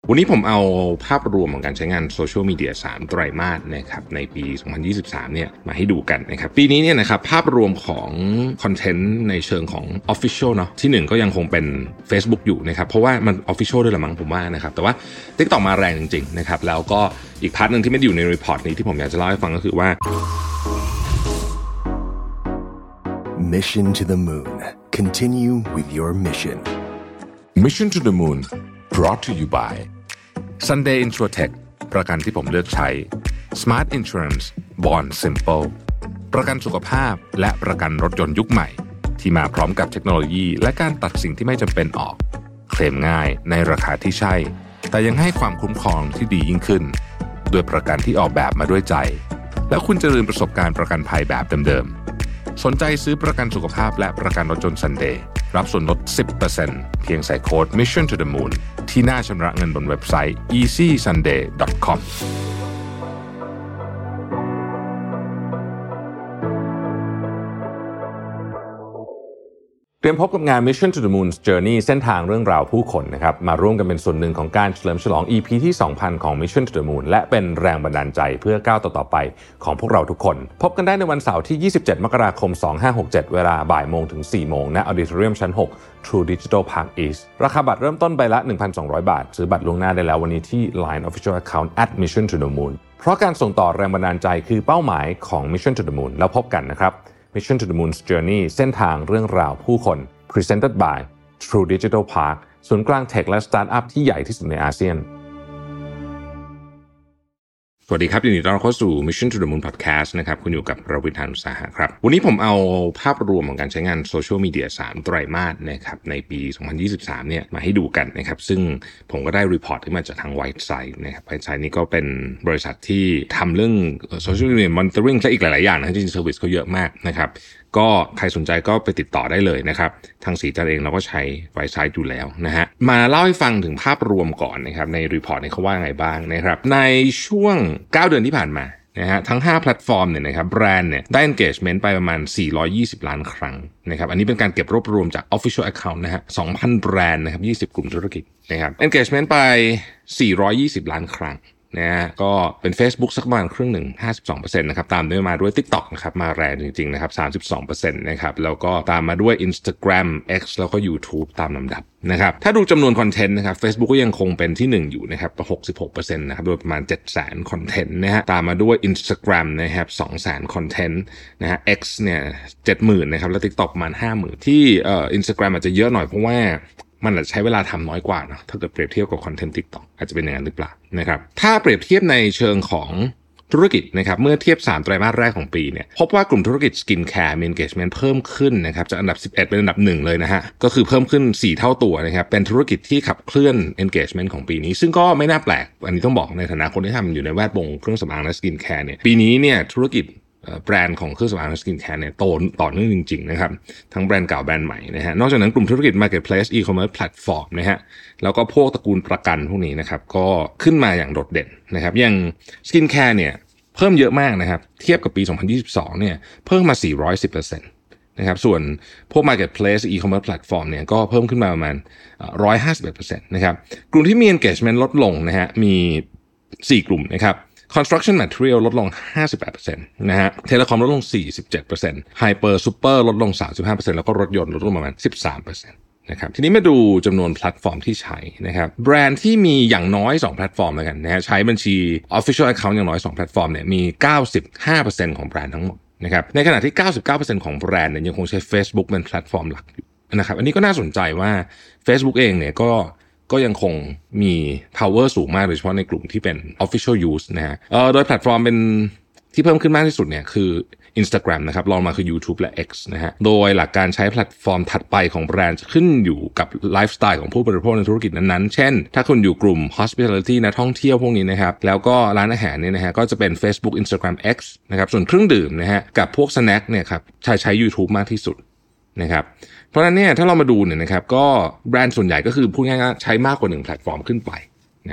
วันนี้ผมเอาภาพรวมของการใช้งานโซเชียลมีเดีย3ไตรมาสนะครับในปี2023เนี่ยมาให้ดูกันนะครับปีนี้เนี่ยนะครับภาพรวมของคอนเทนต์ในเชิงของ Official เนาะที่1ก็ยังคงเป็น Facebook อยู่นะครับเพราะว่ามัน Official ด้วยละมั้งผมว่านะครับแต่ว่า TikTok มาแรงจริงๆนะครับแล้วก็อีกพาร์ทนึงที่ไม่ได้อยู่ในรีพอร์ตนี้ที่ผมอยากจะเล่าให้ฟังก็คือว่า Mission to the Moon Continue with your mission Mission to the Moon brought to you by Sunday Insurtech ประกันที่ผมเลือกใช้ Smart Insurance Bond Simple ประกันสุขภาพและประกันรถยนต์ยุคใหม่ที่มาพร้อมกับเทคโนโลยีและการตัดสิ่งที่ไม่จำเป็นออกเคลมง่ายในราคาที่ใช่แต่ยังให้ความคุ้มครองที่ดียิ่งขึ้นด้วยประกันที่ออกแบบมาด้วยใจแล้วคุณจะลืมประสบการณ์ประกันภัยแบบเดิมๆสนใจซื้อประกันสุขภาพและประกันรถยนต์ Sunday รับส่วนลด 10% เพียงใส่โค้ด Mission to the Moon ที่หน้าชำระเงินบนเว็บไซต์ easysunday.com เตรียมพบกับงาน Mission to the Moon's Journey เส้นทางเรื่องราวผู้คนนะครับมาร่วมกันเป็นส่วนหนึ่งของการเฉลิมฉลอง EP ที่ 2,000 ของ Mission to the Moon และเป็นแรงบันดาลใจเพื่อก้าวต่อไปของพวกเราทุกคนพบกันได้ในวันเสาร์ที่ 27 มกราคม 2567 เวลาบ่ายโมงถึง 4 โมงณ Auditorium ชั้น 6 True Digital Park East ราคาบัตรเริ่มต้นใบละ 1,200 บาทซื้อบัตรล่วงหน้าได้แล้ววันนี้ที่ Line Official Account @Mission to the Moon เพราะการส่งต่อแรงบันดาลใจคือเป้าหมายของ Mission to the Moon แล้วพบกันนะครับ Mission to the Moon's Journey เส้นทางเรื่องราวผู้คนPresented by True Digital Park ศูนย์กลางเทคและสตาร์ทอัพที่ใหญ่ที่สุดในอาเซียนสวัสดีครับยินดีต้อนรับเข้าสู่ Mission to the Moon Podcast นะครับคุณอยู่กับรวิทย์ หาญอุตสาหะครับวันนี้ผมเอาภาพรวมของการใช้งานโซเชียลมีเดีย3ไตรมาสนะครับในปี2023เนี่ยมาให้ดูกันนะครับซึ่งผมก็ได้รีพอร์ตที่มาจากทาง Whiteside นะครับ Whiteside นี่ก็เป็นบริษัทที่ทำเรื่องโซเชียลมีเดียมอนิเตอร์ริ่งและอีกหลายๆอย่างนะจริงๆเซอร์วิสเขาเยอะมากนะครับก็ใครสนใจก็ไปติดต่อได้เลยนะครับทางสีจันเองเราก็ใช้ Whiteside อยู่แล้วนะฮะมาเล่าให้ฟังถึงภาพรวมก่อนนะครับในรีพอร์ตนี้เขาว่าไงบ้างนะครับในช่วง9 เดือนที่ผ่านมานะฮะทั้ง5แพลตฟอร์มเนี่ยนะครับแบรนด์เนี่ยได้ engagement ไปประมาณ420ล้านครั้งนะครับอันนี้เป็นการเก็บรวบรวมจาก official account นะฮะ 2,000 แบรนด์นะครับ20กลุ่มธุรกิจนะครับ engagement ไป420ล้านครั้งนะฮะก็เป็น Facebook สักประมาณครึ่งหนึ่ง 52% นะครับตามด้วยมาด้วย TikTok นะครับมาแรงจริงๆนะครับ 32% นะครับแล้วก็ตามมาด้วย Instagram X แล้วก็ YouTube ตามลำดับนะครับถ้าดูจำนวนคอนเทนต์นะครับ Facebook ก็ยังคงเป็นที่1อยู่นะครับ 66% นะครับโดยประมาณ 700,000 คอนเทนต์นะฮะตามมาด้วย Instagram นะครับ 200,000 คอนเทนต์นะฮะ X เนี่ย 70,000 นะครับแล้ว TikTok ประมาณ 50,000 ที่Instagram อาจจะเยอะหน่อยเพราะว่ามันอาจจะใช้เวลาทำน้อยกว่านะถ้าเกิดเปรียบเทียบกับคอนเทนต์ TikTok อาจจะเป็นอย่างนั้นหรือเปล่านะครับถ้าเปรียบเทียบในเชิงของธุรกิจนะครับเมื่อเทียบ3ไตรมาสแรกของปีเนี่ยพบว่ากลุ่มธุรกิจสกินแคร์มี engagement เพิ่มขึ้นนะครับจากอันดับ11เป็นอันดับ1เลยนะฮะก็คือเพิ่มขึ้น4เท่าตัวนะครับเป็นธุรกิจที่ขับเคลื่อน engagement ของปีนี้ซึ่งก็ไม่น่าแปลกอันนี้ต้องบอกในฐานะคนที่ทำอยู่ในแวดวงเครื่องสำอางและสกินแคร์เนี่ยปีนี้เนี่ยธุรกิจแบรนด์ของเครื่องสำอางและสกินแคร์เนี่ยโตต่อเนื่องจริงๆนะครับทั้งแบรนด์เก่าแบรนด์ใหม่นะฮะนอกจากนั้นกลุ่มธุรกิจ Marketplace E-commerce Platform นะฮะแล้วก็พวกตระกูลประกันพวกนี้นะครับก็ขึ้นมาอย่างโดดเด่นนะครับอย่างสกินแคร์เนี่ยเพิ่มเยอะมากนะครับเทียบกับปี2022เนี่ยเพิ่มมา 410%นะครับส่วนพวก Marketplace E-commerce Platform เนี่ยก็เพิ่มขึ้นมาประมาณ 151% นะครับกลุ่มที่มี engagement ลดลงนะฮะมี4กลุ่มนะครับConstruction Material ลดลง 58% นะฮะ Telecom ลดลง 47% Hyper Super ลดลง 35% แล้วก็รถยนต์ลดลงประมาณ 13% นะครับทีนี้มาดูจำนวนแพลตฟอร์มที่ใช้นะครับแบรนด์ที่มีอย่างน้อย2แพลตฟอร์มแล้วกันนะฮะใช้บัญชี Official Account อย่างน้อย2แพลตฟอร์มเนี่ยมี 95% ของแบรนด์ทั้งหมดนะครับในขณะที่ 99% ของแบรนด์เนี่ยยังคงใช้ Facebook เป็นแพลตฟอร์มหลักอยู่นะครับอันนี้ก็น่าสนใจว่า Facebook เองเนี่ยก็ยังคงมี power สูงมากโดยเฉพาะในกลุ่มที่เป็น official use นะฮะโดยแพลตฟอร์มเป็นที่เพิ่มขึ้นมากที่สุดเนี่ยคือ Instagram นะครับรองมาคือ YouTube และ X นะฮะโดยหลักการใช้แพลตฟอร์มถัดไปของแบรนด์จะขึ้นอยู่กับไลฟ์สไตล์ของผู้บริโภคในธุรกิจนั้นๆเช่นถ้าคุณอยู่กลุ่ม hospitality นะท่องเที่ยวพวกนี้นะครับแล้วก็ร้านอาหารเนี่ยนะฮะก็จะเป็น Facebook Instagram X นะครับส่วนเครื่องดื่มนะฮะกับพวก snack เนี่ยครับใช้ YouTube มากที่สุดนะครับเพราะฉะนั้นเนี่ยถ้าเรามาดูเนี่ยนะครับก็แบรนด์ส่วนใหญ่ก็คือพูดง่ายๆใช้มากกว่า1แพลตฟอร์มขึ้นไปนะครับ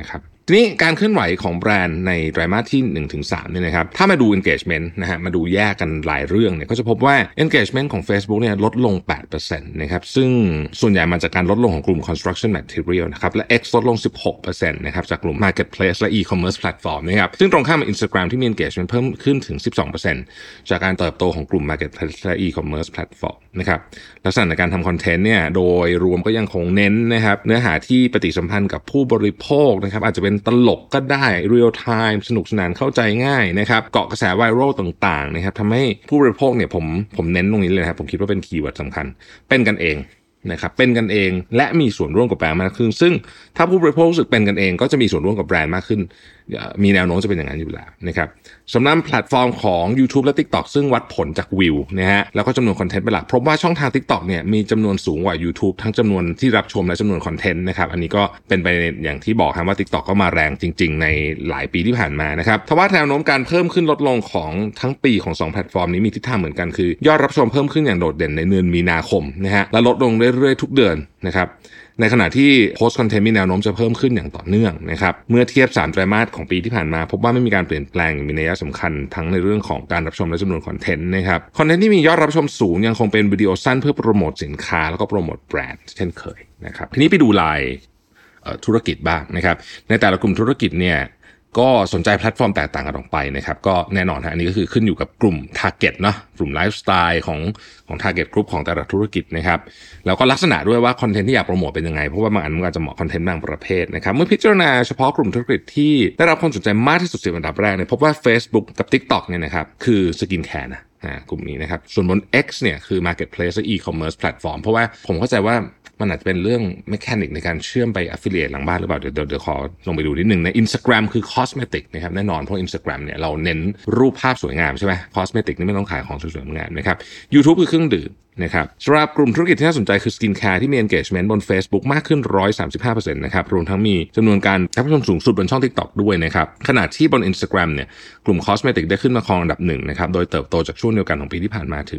ทีนี้การเคลื่อนไหวของแบรนด์ในไตรมาสที่ 1-3 เนี่ยนะครับถ้ามาดู engagement นะฮะมาดูแยกกันหลายเรื่องเนี่ยก็จะพบว่า engagement ของ Facebook เนี่ยลดลง 8% นะครับซึ่งส่วนใหญ่มาจากการลดลงของกลุ่ม construction material นะครับและ X ลดลง 16% นะครับจากกลุ่ม marketplace และ e-commerce platform นะครับซึ่งตรงข้ามกับ Instagram ที่มี engagement เพิ่มขึ้นถึง 12% จากการเติบโตของกลุ่ม marketplace และ e-commerce platform นะครับลักษณะในการทำคอนเทนต์เนี่ยโดยรวมก็ยังคงเน้นนะครับเนื้อหาที่ปฏิสัมพันธ์กับผู้บริโภคนะครับอาจจะเป็นตลกก็ได้ real time สนุกสนานเข้าใจง่ายนะครับเกาะกระแสไวรัลต่างๆนะครับทำให้ผู้บริโภคเนี่ยผมเน้นตรงนี้เลยนะครับผมคิดว่าเป็นคีย์เวิร์ดสำคัญเป็นกันเองนะครับเป็นกันเองและมีส่วนร่วมกับแบรนด์มากขึ้นซึ่งถ้าผู้บริโภครู้สึกเป็นกันเองก็จะมีส่วนร่วมกับแบรนด์มากขึ้นมีแนวโน้มจะเป็นอย่างนั้นอยู่แล้วนะครับสำหรับแพลตฟอร์มของ YouTube และ TikTok ซึ่งวัดผลจากวิวนะฮะแล้วก็จำนวนคอนเทนต์เป็นหลักพบว่าช่องทาง TikTok เนี่ยมีจำนวนสูงกว่า YouTube ทั้งจำนวนที่รับชมและจำนวนคอนเทนต์นะครับอันนี้ก็เป็นไปอย่างที่บอกครับว่า TikTok ก็มาแรงจริงๆในหลายปีที่ผ่านมานะครับทว่าแนวโน้มการเพิ่มขึ้นลดลงของทั้งปีของ2แพลตฟอร์มนี้มีทิศทางเหมือนกันคือยอดรับชมเพิ่มขึ้นอย่างโดดเด่นในเดือนมีนาคมนะฮะและลดลงเรื่อยๆทุกเดือนนะครับในขณะที่โพสต์คอนเทนต์มีแนวโน้มจะเพิ่มขึ้นอย่างต่อเนื่องนะครับเมื่อเทียบ3ไตรมาสของปีที่ผ่านมาพบว่าไม่มีการเปลี่ยนแปลงมีนัยสำคัญทั้งในเรื่องของการรับชมและจำนวนคอนเทนต์นะครับคอนเทนต์ที่มียอดรับชมสูงยังคงเป็นวิดีโอสั้นเพื่อโปรโมทสินค้าแล้วก็โปรโมทแบรนด์เช่นเคยนะครับทีนี้ไปดูรายธุรกิจบ้างนะครับในแต่ละกลุ่มธุรกิจเนี่ยก็สนใจแพลตฟอร์มแตกต่างกันออกไปนะครับก็แน่นอนฮะอันนี้ก็คือขึ้นอยู่กับกลุ่ม target เนาะกลุ่มไลฟ์สไตล์ของ target group ของแต่ละธุรกิจนะครับแล้วก็ลักษณะด้วยว่าคอนเทนต์ที่อยากโปรโมทเป็นยังไงเพราะว่าบางอันมันอาจจะเหมาะคอนเทนต์บางประเภทนะครับเมื่อพิจารณาเฉพาะกลุ่มธุรกิจที่ได้รับความสนใจมากที่สุด10อันดับแรกเนี่ยพบว่า Facebook กับ TikTok เนี่ยนะครับคือสกินแคร์นะกลุ่มนี้นะครับส่วนบน X เนี่ยคือ marketplace และ e-commerce platform เพราะว่าผมเข้าใจว่ามันอาจจะเป็นเรื่องเมคานิกในการเชื่อมไป affiliate หลังบ้านหรือเปล่าเดี๋ยวขอลงไปดูนิดนึงใน Instagram คือ cosmetic นะครับแน่นอนเพราะ Instagram เนี่ยเราเน้นรูปภาพสวยงามใช่ไหม cosmetic นี่ไม่ต้องขายของสวยๆงามนะครับ YouTube คือเครื่องดื่มนะครับสำหรับกลุ่มธุรกิจที่น่าสนใจคือ skin care ที่มี engagement บน Facebook มากขึ้น 135% นะครับรวมทั้งมีจำนวนการรับชมสูงสุดบนช่อง TikTok ด้วยนะครับขณะที่บน Instagram เนี่ยกลุ่ม cosmetic ได้ขึ้นมาครองอันดับ1นะครับโดยเติบโตจากช่วงเดียวกันของปีที่ผ่านมาถึง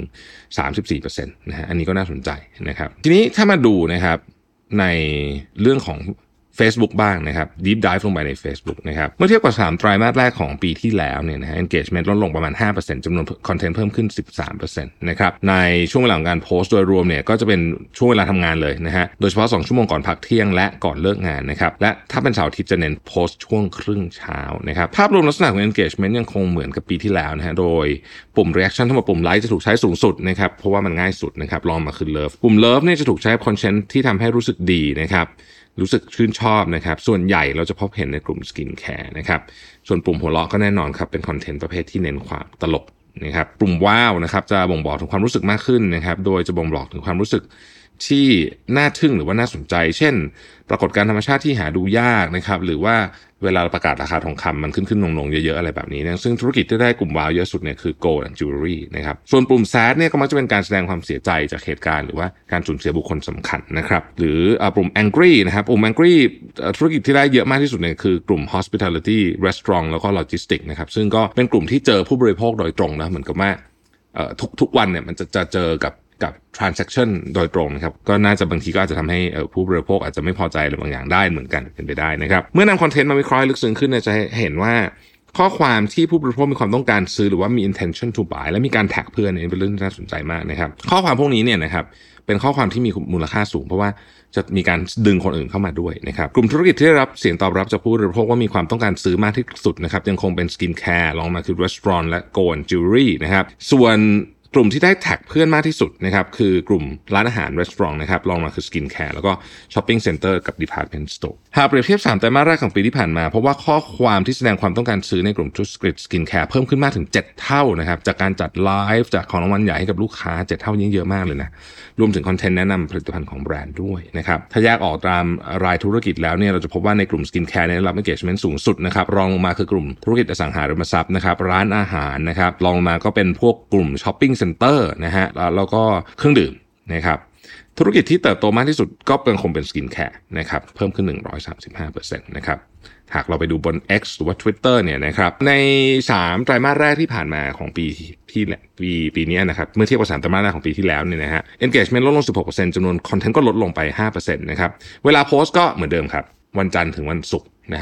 34% นะฮะอันนี้ก็น่าสนใจนะครับทีนี้ถ้ามาดูนะครับในเรื่องของ Facebook บ้างนะครับ Deep Dive ลงไปใน Facebook นะครับเมื่อเทียบกับ3ไตรมาสแรกของปีที่แล้วเนี่ยนะฮะ engagement ลดลงประมาณ 5% จำนวนคอนเทนต์เพิ่มขึ้น 13% นะครับในช่วงเวลาของการโพสต์โดยรวมเนี่ยก็จะเป็นช่วงเวลาทำงานเลยนะฮะโดยเฉพาะ2ชั่วโมงก่อนพักเที่ยงและก่อนเลิกงานนะครับและถ้าเป็นเสาร์อาทิตย์จะเน้นโพสต์ช่วงครึ่งเช้านะครับภาพรวมลักษณะของ engagement ยังคงเหมือนกับปีที่แล้วนะฮะโดยปุ่ม reaction ทั้งหมดปุ่ม like จะถูกใช้สูงสุดนะครับเพราะว่ามันง่ายสุดนะครับรองมาคือ love ปุ่ม love เนี่ยจะถูกใช้คอนเทนต์ที่ทำให้รู้สึกดีนะครับรู้สึกชื่นชอบนะครับส่วนใหญ่เราจะพบเห็นในกลุ่มสกินแคร์นะครับส่วนปุ่มหัวเราะก็แน่นอนครับเป็นคอนเทนต์ประเภทที่เน้นความตลกนะครับปุ่มว้าวนะครับจะบ่งบอกถึงความรู้สึกมากขึ้นนะครับโดยจะบ่งบอกถึงความรู้สึกที่น่าทึ่งหรือว่าน่าสนใจเช่นปรากฏการณ์ธรรมชาติที่หาดูยากนะครับหรือว่าเวลาประกาศราคาทองคำมันขึ้นลงเยอะๆอะไรแบบนี้นะซึ่งธุรกิจที่ได้กลุ่มว้าวเยอะสุดเนี่ยคือ Gold and Jewelry นะครับส่วนปุ่ม sad เนี่ยก็มักจะเป็นการแสดงความเสียใจจากเหตุการณ์หรือว่าการสูญเสียบุคคลสำคัญนะครับหรือปุ่ม angry นะครับปุ่ม angry ธุรกิจที่ได้เยอะมากที่สุดเนี่ยคือกลุ่ม hospitality restaurant แล้วก็ logistics นะครับซึ่งก็เป็นกลุ่มที่เจอผู้บริโภคโดยตรงนะเหมือนกับว่าทุกวันเนี่ยมันจะเจอกับ transaction โดยตรงนะครับก็น่าจะบางทีก็อาจจะทำให้ผู้บริโภคอาจจะไม่พอใจหรือบางอย่างได้เหมือนกันเป็นไปได้นะครับเมื่อนำคอนเทนต์มาวิเคราะห์ลึกซึ้งขึ้นจะเห็นว่าข้อความที่ผู้บริโภคมีความต้องการซื้อหรือว่ามี intention to buy และมีการแท็กเพื่อนเนี่ยเป็นเรื่องที่น่าสนใจมากนะครับข้อความพวกนี้เนี่ยนะครับเป็นข้อความที่มีมูลค่าสูงเพราะว่าจะมีการดึงคนอื่นเข้ามาด้วยนะครับกลุ่มธุรกิจที่ได้รับเสียงตอบรับจากผู้บริโภคว่ามีความต้องการซื้อมากที่สุดนะครับยังคงเป็นสกินแคร์รองมาคือ restaurant และ Gold and Jewelry นะครับส่วนกลุ่มที่ได้แท็กเพื่อนมากที่สุดนะครับคือกลุ่มร้านอาหาร restaurant นะครับรองมาคือ skin care แล้วก็ shopping center กับ department store หากเปรียบเทียบ3ไตรมาสแรกของปีที่ผ่านมาเพราะว่าข้อความที่แสดงความต้องการซื้อในกลุ่มธุรกิจ skin care เพิ่มขึ้นมากถึง7เท่านะครับจากการจัดไลฟ์จากของรางวัลใหญ่ให้กับลูกค้า7เท่ายิ่งเยอะมากเลยนะรวมถึงคอนเทนต์แนะนำผลิตภัณฑ์ของแบรนด์ด้วยนะครับถ้าแยกออกตามรายธุรกิจแล้วเนี่ยเราจะพบว่าในกลุ่ม skin care ได้รับ engagement สูงสุดนะครับรองลงมาคือกลุ่มธุรกิจอสังหาริมทรัพย์นะครับร้านอาหารนะครับรองลงมาก็เป็นพวกกลุ่ม shopping center นะฮะแล้วก็เครื่องดื่มนะครับธุรกิจที่เติบโตมากที่สุดก็คงเป็นสกินแคร์นะครับเพิ่มขึ้น 135% นะครับหากเราไปดูบน X หรือว่า Twitter เนี่ยนะครับใน3ไตรมาสแรกที่ผ่านมาของปีนี้นะครับเมื่อเทียบกับ3ไตรมาสแรกของปีที่แล้วเนี่ยนะฮะ engagement ลดลง 16% จำนวนคอนเทนต์ก็ลดลงไป 5% นะครับเวลาโพสต์ก็เหมือนเดิมครับวันจันทร์ถึงวันศุกร์นะฮะ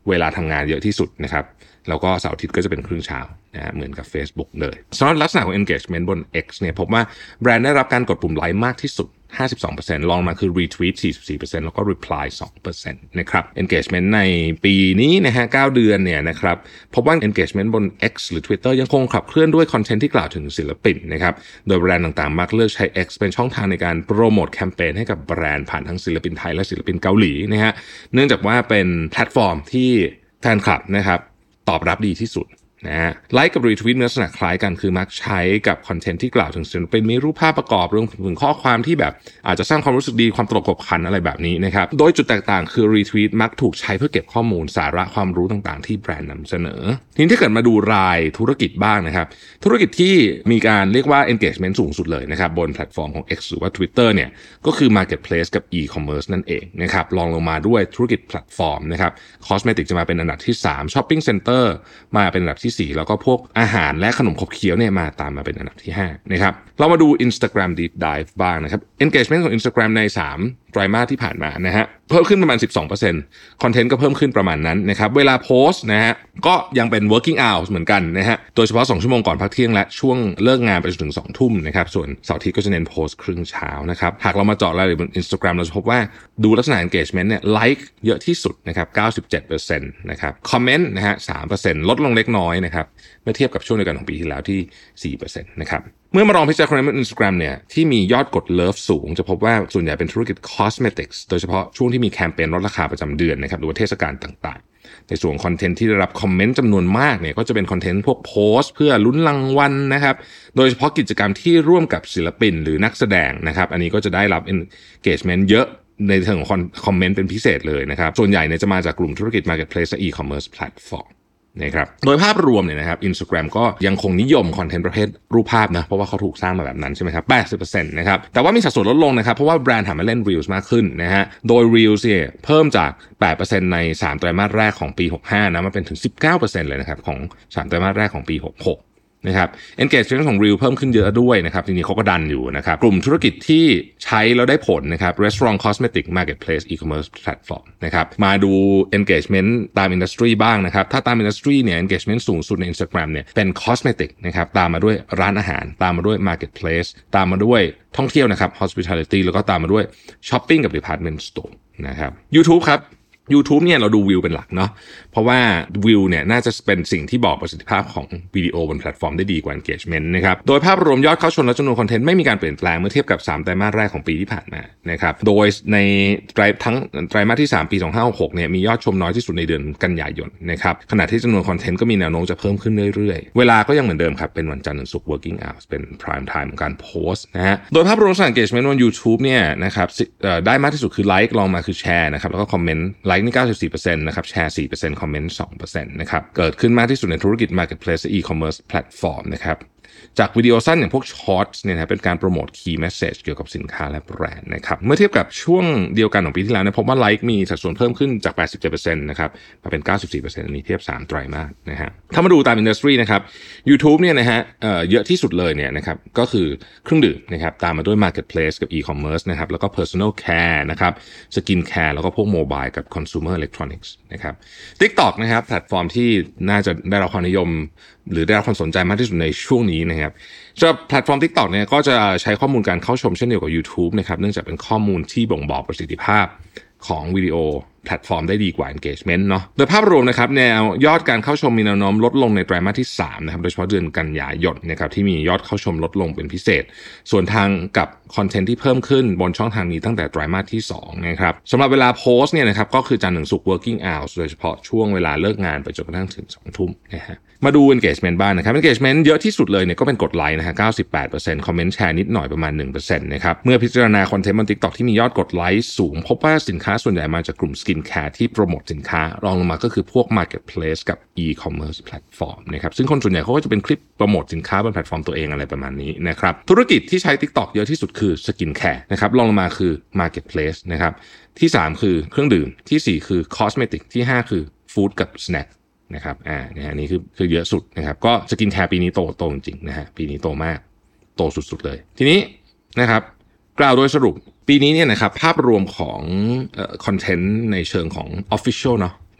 เวลาทำงานเยอะที่สุดนะครับแล้วก็เสาร์อาทิตย์ก็จะเป็นครึ่งเช้านะเหมือนกับ Facebook เลยสำหรับลักษณะของ engagement บน X เนี่ยพบว่าแบรนด์ได้รับการกดปุ่มไลค์มากที่สุด 52% รองมาคือ retweet 44% แล้วก็ reply 2% นะครับ engagement ในปีนี้นะฮะ9เดือนเนี่ยนะครับพบว่า engagement บน X หรือ Twitter ยังคงขับเคลื่อนด้วยคอนเทนต์ที่กล่าวถึงศิลปินนะครับโดยแบรนด์ต่างๆมักเลือกใช้ X เป็นช่องทางในการโปรโมทแคมเปญให้กับแบรนด์ผ่านทั้งศิลปินไทยและศิลปินเกาหลีนะฮะเนื่องจากว่าเป็นแพลตฟอร์มที่แฟนคลับนะครับตอบรับดีที่สุดนะฮะไลค์กับรีทวีตลักษณะคล้ายกันคือมักใช้กับคอนเทนต์ที่กล่าวถึงศิลปินมีรูปภาพประกอบรวมถึงข้อความที่แบบอาจจะสร้างความรู้สึกดีความตลกขบขันอะไรแบบนี้นะครับโดยจุดแตกต่างคือรีทวีตมักถูกใช้เพื่อเก็บข้อมูลสาระความรู้ต่างๆที่แบรนด์นำเสนอทีนี้ถ้าเกิดมาดูรายธุรกิจบ้างนะครับธุรกิจที่มีการเรียกว่า engagement สูงสุดเลยนะครับบนแพลตฟอร์มของ X หรือว่า Twitter เนี่ยก็คือ Marketplace กับ e-commerce นั่นเองนะครับรองลงมาด้วยธุรกิจแพลตฟอร์มนะครับ Cosmetic จะมาเป็นอันดับที่3 Shopping Center มาเป็นอันดับที่4แล้วก็พวกอาหารและขนมขบเคี้ยวเนี่ยมาตามมาเป็นอันดับที่5นะครับเรามาดู Instagram Deep Dive บ้างนะครับ engagement ของ Instagram ใน3ไตรมาสที่ผ่านมานะฮะเพิ่มขึ้นประมาณ 12% คอนเทนต์ก็เพิ่มขึ้นประมาณนั้นนะครับเวลาโพสต์นะฮะก็ยังเป็น working hours เหมือนกันนะฮะโดยเฉพาะ2ชั่วโมงก่อนพักเที่ยงและช่วงเลิกงานไปจนถึง 2 ทุ่มนะครับส่วนเสาร์อาทิตย์ก็จะเน้นโพสต์ครึ่งเช้านะครับหากเรามาเจาะรายละเอียดบน Instagram เราจะพบว่าดูลักษณะ engagement เนี่ยไลค์เยอะที่สุดนะครับ 97% นะครับคอมเมนต์นะฮะ 3% ลดลงเล็กน้อยนะครับเมื่อเทียบกับช่วงเดียวกันของปีที่แล้วที่ 4% นะครับเมื่อมาลองพิจารณาบน Instagram เนี่ยที่มียอดกดเลิฟสูงจะพบว่าส่วนใหญ่เป็นธุรกิจ Cosmetics โดยเฉพาะช่วงที่มีแคมเปญลดราคาประจำเดือนนะครับหรือว่าเทศกาลต่างๆในส่วนคอนเทนต์ที่ได้รับคอมเมนต์จำนวนมากเนี่ยก็จะเป็นคอนเทนต์พวกโพสต์เพื่อลุ้นรางวัลนะครับโดยเฉพาะกิจกรรมที่ร่วมกับศิลปินหรือนักแสดงนะครับอันนี้ก็จะได้รับ engagement เยอะในเชิงของคอมเมนต์เป็นพิเศษเลยนะครับส่วนใหญ่เนี่ยจะมาจากกลุ่มธุรกิจ Marketplace และ e-commerce platformนะครับโดยภาพรวมเนี่ยนะครับ Instagram ก็ยังคงนิยมคอนเทนต์ประเภทรูปภาพนะเพราะว่าเขาถูกสร้างมาแบบนั้นใช่ไหมครับ 80% นะครับแต่ว่ามีสัดส่วนลดลงนะครับเพราะว่าแบรนด์หันมาเล่น Reels มากขึ้นนะฮะโดย Reels เนี่ยเพิ่มจาก 8% ใน3ไตรมาสแรกของปี65นะมาเป็นถึง 19% เลยนะครับของ3ไตรมาสแรกของปี66นะครับ engagement ของ Reel เพิ่มขึ้นเยอะด้วยนะครับทีนี้เขาก็ดันอยู่นะครับกลุ่มธุรกิจที่ใช้แล้วได้ผลนะครับ Restaurant Cosmetic Marketplace E-commerce Platform นะครับมาดู engagement ตาม industry บ้างนะครับถ้าตาม industry เนี่ย engagement สูงสุดใน Instagram เนี่ยเป็น Cosmetic นะครับตามมาด้วยร้านอาหารตามมาด้วย Marketplace ตามมาด้วยท่องเที่ยวนะครับ Hospitality แล้วก็ตามมาด้วย Shopping กับ Department Store นะครับ YouTube ครับYouTube เนี่ยเราดูวิวเป็นหลักเนาะเพราะว่าวิวเนี่ยน่าจะเป็นสิ่งที่บอกประสิทธิภาพของวิดีโอบนแพลตฟอร์มได้ดีกว่า engagement นะครับโดยภาพรวมยอดเข้าชมและจำนวนคอนเทนต์ไม่มีการเปลี่ยนแปลงเมื่อเทียบกับ3ไตรมาสแรกของปีที่ผ่านมานะครับโดยในไตรมาสที่3ปี2566เนี่ยมียอดชมน้อยที่สุดในเดือนกันยายนนะครับขณะที่จำนวนคอนเทนต์ก็มีแนวโน้มจะเพิ่มขึ้นเรื่อยๆเวลาก็ยังเหมือนเดิมครับเป็นวันจันทร์ถึงศุกร์ working hours เป็น prime time ของการโพสต์นะฮะโดยภาพรวมของ engagement บน YouTube เนี่ยนะครับได้มากที่สุดคือไลค์ลองมาคือแชร์นะครับแล้วก็คอมเมนต์ไลค์นี่ 94% นะครับแชร์ 4% คอมเมนต์ 2% นะครับเกิดขึ้นมากที่สุดในธุรกิจ Marketplace และ e-commerce platform นะครับจากวิดีโอสั้นอย่างพวก Shorts เนี่ยนะเป็นการโปรโมท Key Message เกี่ยวกับสินค้าและแบรนด์นะครับเมื่อเทียบกับช่วงเดียวกันของปีที่แล้วเนี่ยพบว่าไลค์มีสัดส่วนเพิ่มขึ้นจาก 87% นะครับมาเป็น 94% อันนี้เทียบ3ไตรมาสนะฮะถ้ามาดูตาม industry นะครับ YouTube เนี่ยนะฮะเยอะที่สุดเลยเนี่ยนะครับก็คือเครื่องดื่มนะครับตามมาด้วย Marketplace กับ e-commerce นะครับแล้วก็ Personal Care นะครับ Skin Care แล้วก็พวก Mobile กับ Consumer Electronics นะครับ TikTok นะครับแพลตฟอร์มที่น่าจะได้รับความนิยมหรือได้รับความสนใจมากที่สุดในช่วงนี้นะครับสำหรับแพลตฟอร์ม TikTok เนี่ยก็จะใช้ข้อมูลการเข้าชมเช่นเดียวกับ YouTube นะครับเนื่องจากเป็นข้อมูลที่บ่งบอกประสิทธิภาพของวิดีโอแพลตฟอร์มได้ดีกว่า engagement เนาะโดยภาพรวมนะครับแนวยอดการเข้าชมมีแนวโน้มลดลงในไตรมาสที่3นะครับโดยเฉพาะเดือนกันยายนนะครับที่มียอดเข้าชมลดลงเป็นพิเศษส่วนทางกับคอนเทนต์ที่เพิ่มขึ้นบนช่องทางนี้ตั้งแต่ไตรมาสที่2นะครับสำหรับเวลาโพสต์เนี่ยนะครับก็คือจันทร์ถึงศุกร์ working hours โดยเฉพาะช่วงเวลาเลิกงานไปจนกระทั่งถึง 2 ทุ่มนะฮะมาดู engagement บ้างนะครับ engagement เยอะที่สุดเลยเนี่ยก็เป็นกดไลค์นะฮะ 98% คอมเมนต์แชร์นิดหน่อยประมาณ 1% นะครับเมื่อพิจารณาคอนเทนต์บน TikTok ที่มียอดกดไลค์สูงพบว่าสินค้าส่วนใหญ่มาจากกลุ่ม Skin Care ที่โปรโมทสินค้ารองลงมาก็คือพวก Marketplace กับ e-commerce platform นะครับซึ่งคนส่วนใหญ่เขาก็จะเป็นคลิปโปรโมทสินค้าบนแพลตฟอร์มตัวเองอะไรประมาณนี้นะครับธุรกิจที่ใช้ TikTok เยอะที่สุดคือ Skin Care นะครับรองลงมาคือ Marketplace นะครับที่3คือเครื่องดื่มที่4คือ Cosmetic ที่5คือ Food กับ Snackนะครับนะฮะนี่คือเยอะสุดนะครับก็สกินแคร์ปีนี้โตจริงๆนะฮะปีนี้โตมากโตสุดๆเลยทีนี้นะครับกล่าวโดยสรุปปีนี้เนี่ยนะครับภาพรวมของคอนเทนต์ในเชิงของ official เนาะ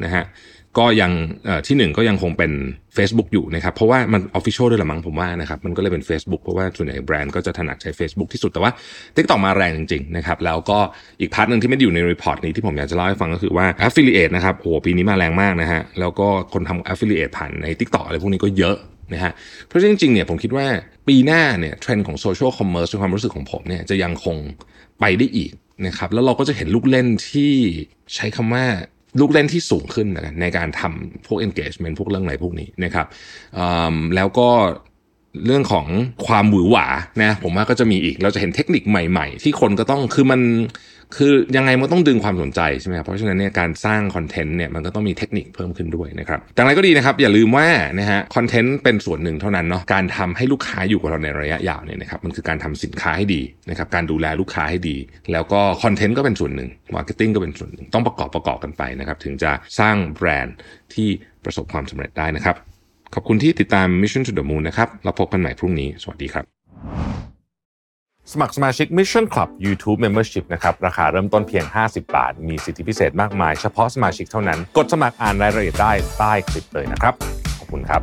นะฮะก็ยังที่1ก็ยังคงเป็น Facebook อยู่นะครับเพราะว่ามัน Official ด้วยละมั้งผมว่านะครับมันก็เลยเป็น Facebook เพราะว่าส่วนใหญ่แบรนด์ก็จะถนัดใช้ Facebook ที่สุดแต่ว่า TikTok มาแรงจริงๆนะครับแล้วก็อีกพาร์ทนึงที่ไม่ได้อยู่ในรีพอร์ตนี้ที่ผมอยากจะเล่าให้ฟังก็คือว่า Affiliate นะครับโอ้ปีนี้มาแรงมากนะฮะแล้วก็คนทำ Affiliate ผ่านใน TikTok อะไรพวกนี้ก็เยอะนะฮะเพราะจริงๆเนี่ยผมคิดว่าปีหน้าเนี่ยเทรนด์ของ Social Commerce ในความรู้สึกของผมเนี่ยจะยังคงไปได้อีกนะครับแล้วเราก็จะเห็นลูกเล่นที่ใช้คำว่าลูกเล่นที่สูงขึ้นนะในการทำพวก engagement พวกเรื่องอะไรพวกนี้นะครับแล้วก็เรื่องของความหวือหวานะผมว่าก็จะมีอีกเราจะเห็นเทคนิคใหม่ๆที่คนก็ต้องคือยังไงมันต้องดึงความสนใจใช่ไหมครับเพราะฉะนั้นเนี่ยการสร้างคอนเทนต์เนี่ยมันก็ต้องมีเทคนิคเพิ่มขึ้นด้วยนะครับแต่อะไรก็ดีนะครับอย่าลืมว่านะฮะคอนเทนต์เป็นส่วนหนึ่งเท่านั้นเนาะการทำให้ลูกค้าอยู่กับเราในระยะยาวเนี่ยนะครับมันคือการทำสินค้าให้ดีนะครับการดูแลลูกค้าให้ดีแล้วก็คอนเทนต์ก็เป็นส่วนหนึ่งมาร์เก็ตติ้งก็เป็นส่วนหนึ่งต้องประกอบกันไปนะครับถึงจะสร้างแบรนด์ที่ประสบความสำเร็จได้นะครับขอบคุณที่ติดตาม Mission to the Moon นะครับเราพบกันใหม่พรุ่งนี้สวัสดีครับสมัครสมาชิก Mission Club YouTube Membership นะครับราคาเริ่มต้นเพียง50 บาทมีสิทธิพิเศษมากมายเฉพาะสมาชิกเท่านั้นกดสมัครอ่านรายละเอียดได้ใต้คลิปเลยนะครับขอบคุณครับ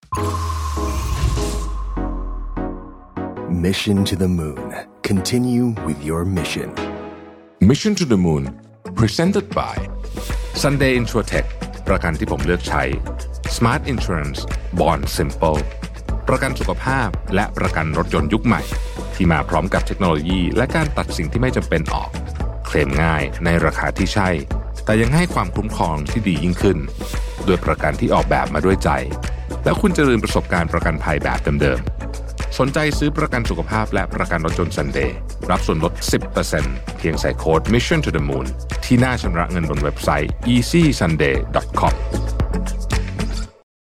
Mission to the Moon. Continue with your mission. Mission to the Moon Presented by Sunday Insurtech ประกันที่ผมเลือกใช้ Smart Insurance Bond Simple ประกันสุขภาพและประกันรถยนต์ยุคใหม่ที่มาพร้อมกับเทคโนโลยีและการตัดสิ่งที่ไม่จำเป็นออกเคลมง่ายในราคาที่ใช่แต่ยังให้ความคุ้มครองที่ดียิ่งขึ้นด้วยประกันที่ออกแบบมาด้วยใจแล้วคุณจะลืมประสบการณ์ประกันภัยแบบเดิมๆสนใจซื้อประกันสุขภาพและประกันรถยนต์ Sunday รับส่วนลด 10% เพียงใส่โค้ด Mission to the Moon ที่หน้าชำระเงินบนเว็บไซต์ easysunday.com